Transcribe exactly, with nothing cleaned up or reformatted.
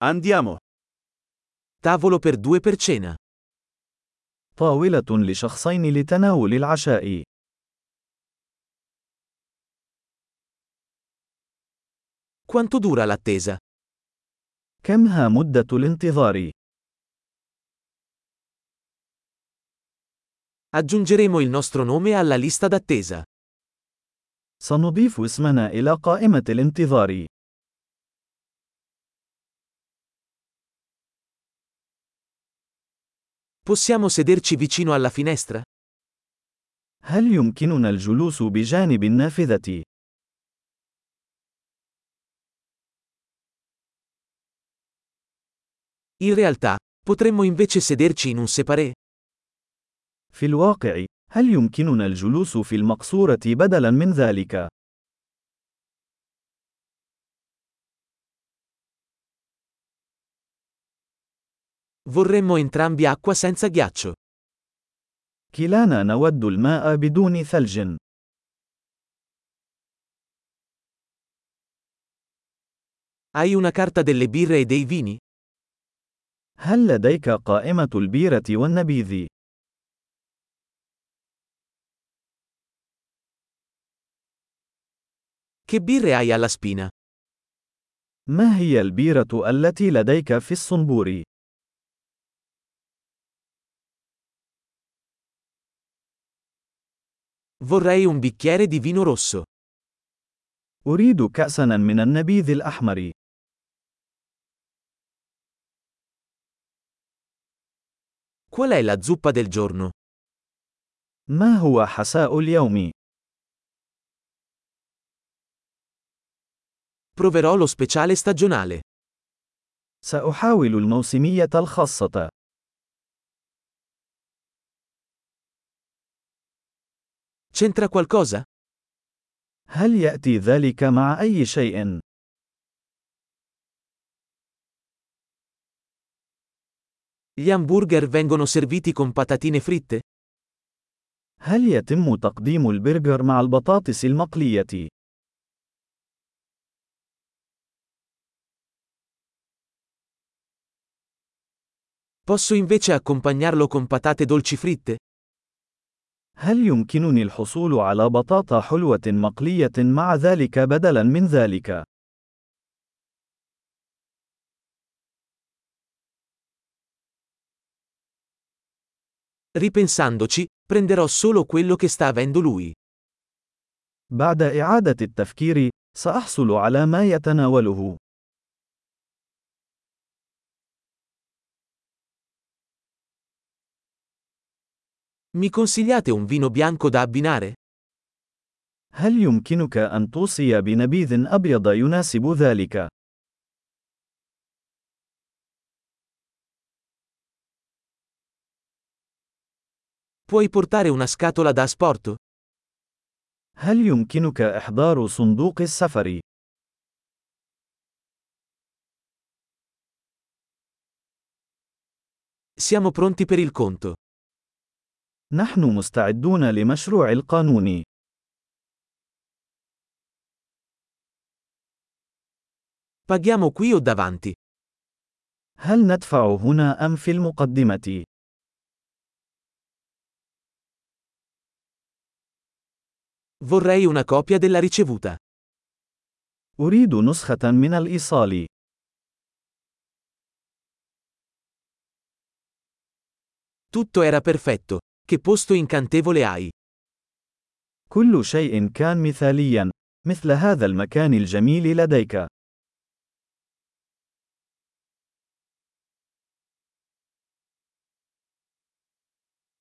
Andiamo. Tavolo per due per cena. طاولة لشخصين لتناول العشاء. Quanto dura l'attesa? كمها مدة الانتظار؟ Aggiungeremo il nostro nome alla lista d'attesa. سنضيف اسمنا إلى قائمة الانتظار. Possiamo sederci vicino alla finestra? هل يمكننا الجلوس بجانب النافذة؟ In realtà, potremmo invece sederci in un séparé? في الواقع، هل يمكننا الجلوس في المقصورة بدلاً من ذلك؟ Vorremmo entrambi acqua senza ghiaccio. كلانا نود الماء بدون ثلج. Hai una carta delle birre e dei vini? هل لديك قائمة البيرة والنبيذ؟ Che birre hai alla spina? ما هي البيرة التي لديك في الصنبور؟ Vorrei un bicchiere di vino rosso. أريد كأساً من النبيذ الأحمر. Qual è la zuppa del giorno? ما هو حساء اليوم؟ Proverò lo speciale stagionale. سأحاول الموسمية الخاصة. C'entra qualcosa? هل يأتي ذلك مع أي شيء؟ Gli hamburger vengono serviti con patatine fritte? هل يتم تقديم البرجر مع البطاطس المقلية؟ Posso invece accompagnarlo con patate dolci fritte? هل يمكنني الحصول على بطاطا حلوة مقلية مع ذلك بدلاً من ذلك؟ Ripensandoci, prenderò solo quello che sta avendo lui. بعد إعادة التفكير، سأحصل على ما يتناوله. Mi consigliate un vino bianco da abbinare? هل يمكنك أن توصي بنبيذ أبيض يناسب ذلك؟ Puoi portare una scatola da asporto? هل يمكنك إحضار صندوق السفر؟ Siamo pronti per il conto. نحن مستعدون لمشروع القانون. Paghiamo qui o davanti? هل ندفع هنا أم في المقدمة؟ Vorrei una copia della ricevuta. أريد نسخة من الإيصال. Tutto era perfetto. Che posto incantevole hai. كل شيء كان مثاليا. مثل هذا المكان الجميل لديك.